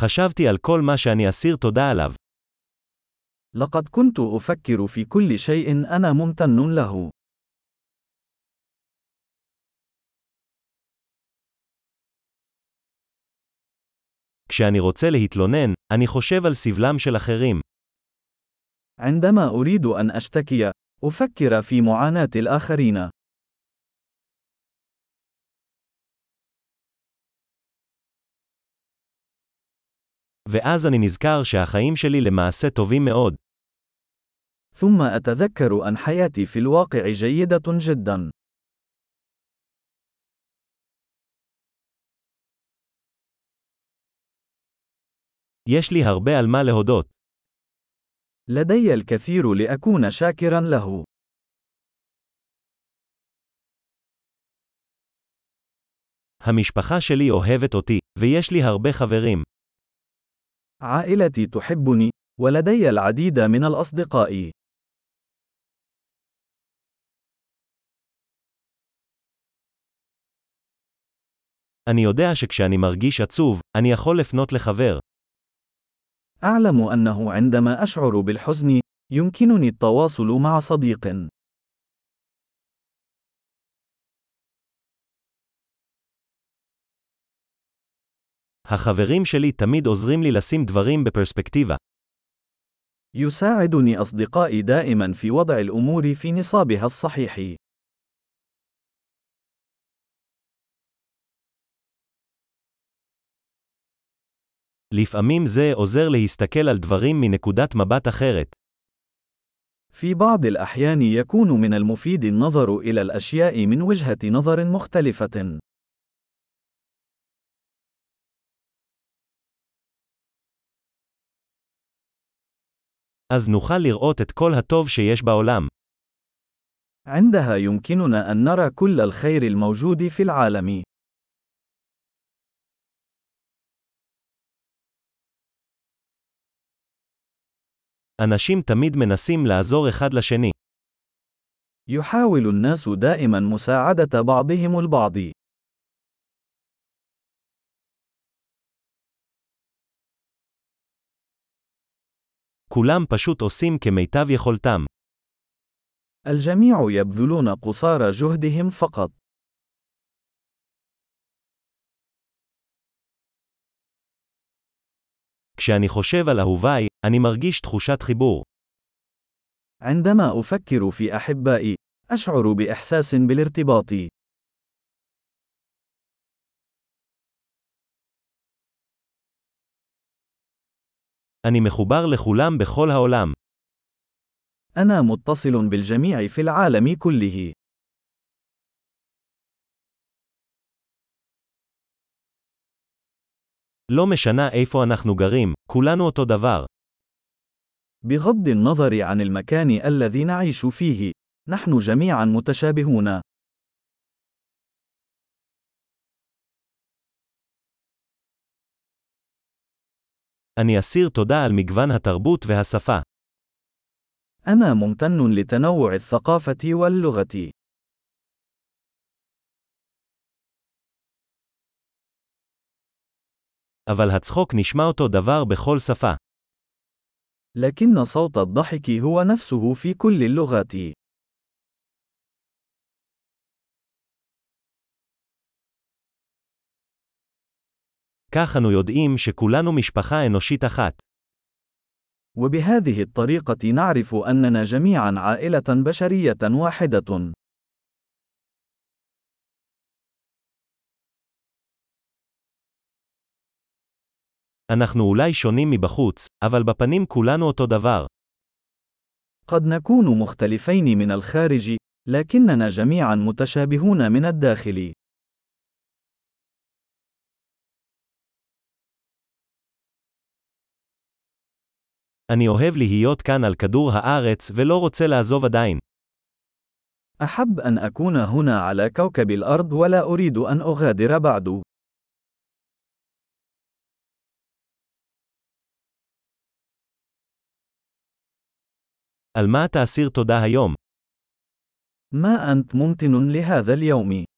חשבתי על כל מה שאני אסיר תודה עליו. لقد كنت أفكر في كل شيء أنا ممتن له. כשאני רוצה להתלונן, אני חושב על סבלם של אחרים. عندما أريد أن أشتكي، أفكر في معاناة الآخرين. ואז אני נזכר שהחיים שלי למעשה טובים מאוד. ثم أتذكر أن حياتي في الواقع جيدة جدا. יש לי הרבה על מה להודות. لدي الكثير لأكون شاكرا له. המשפחה שלי אוהבת אותי, ויש לי הרבה חברים. عائلتي تحبني، ولدي العديد من الأصدقاء. אני יודע שכשאני מרגיש עצוב, אני יכול לפנות לחבר. أعلم أنه عندما أشعر بالحزن، يمكنني التواصل مع صديق. החברים שלי תמיד עוזרים לי לשים דברים בפרספקטיבה. يساعدني أصدقائي دائما في وضع الأمور في نصابها الصحيح. לפעמים זה עוזר להסתכל על דברים מנקודת מבט אחרת. في بعض الأحيان يكون من المفيد النظر إلى الأشياء من وجهة نظر مختلفة. אז נוכל לראות את כל הטוב שיש בעולם. عندها يمكننا أن نرى كل الخير الموجود في العالم. אנשים תמיד מנסים לעזור אחד לשני. يحاول الناس دائما مساعدة بعضهم البعض. כולם פשוט עושים כמיטב יכולתם. الجميع يبذلون قصارى جهدهم فقط. כשאני חושב על אהוביי, אני מרגיש תחושת חיבור. عندما أفكر في أحبائي، أشعر بإحساس بالارتباط. אני מחובר לכולם בכל העולם. أنا متصل بالجميع في العالم كله. לא משנה איפה אנחנו גרים, כולנו אותו דבר. بغض النظر عن المكان الذي نعيش فيه، نحن جميعا متشابهون. אני אסיר תודה על מגוון התרבות והשפה. أنا ممتن لتنوع الثقافة واللغة. אבל הצחוק נשמע אותו דבר בכל שפה. لكن صوت الضحك هو نفسه في كل اللغات. כך אנו יודעים שכולנו משפחה אנושית אחת. وبهذه الطريقة نعرف أننا جميعا عائلة بشرية واحدة. אנחנו אולי שונים מבחוץ, אבל בפנים כולנו אותו דבר. قد نكون مختلفين من الخارج، لكننا جميعا متشابهون من الداخل. אני אוהב להיות כאן על כדור הארץ ולא רוצה לעזוב עדיין. أحب أن أكون هنا على كوكب الأرض ولا أريد أن أغادر بعد. על מה תאסיר תודה היום? ما أنت ممتن لهذا اليوم؟